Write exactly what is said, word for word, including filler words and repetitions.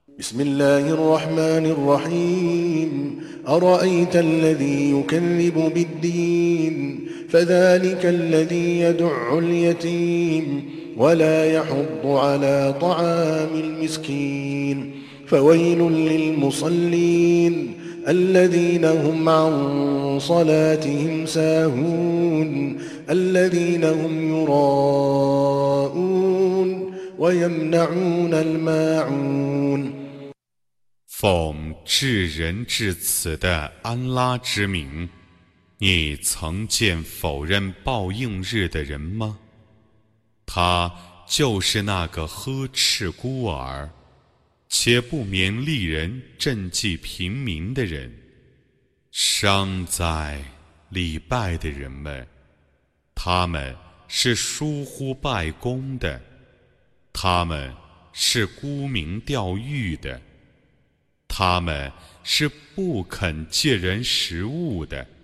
بسم الله الرحمن الرحيم أرأيت الذي يكذب بالدين فذلك الذي يدع اليتيم ولا يحض على طعام المسكين فويل للمصلين الذين هم عن صلاتهم ساهون الذين هم يراءون ويمنعون الماعون 奉至仁至慈的安拉之名，你曾见否认报应日的人吗？他就是那个呵斥孤儿，且不勉励人赈济贫民的人。伤哉，礼拜的人们！他们是疏忽拜功的，他们是沽名钓誉的。他们是不肯借人食物的。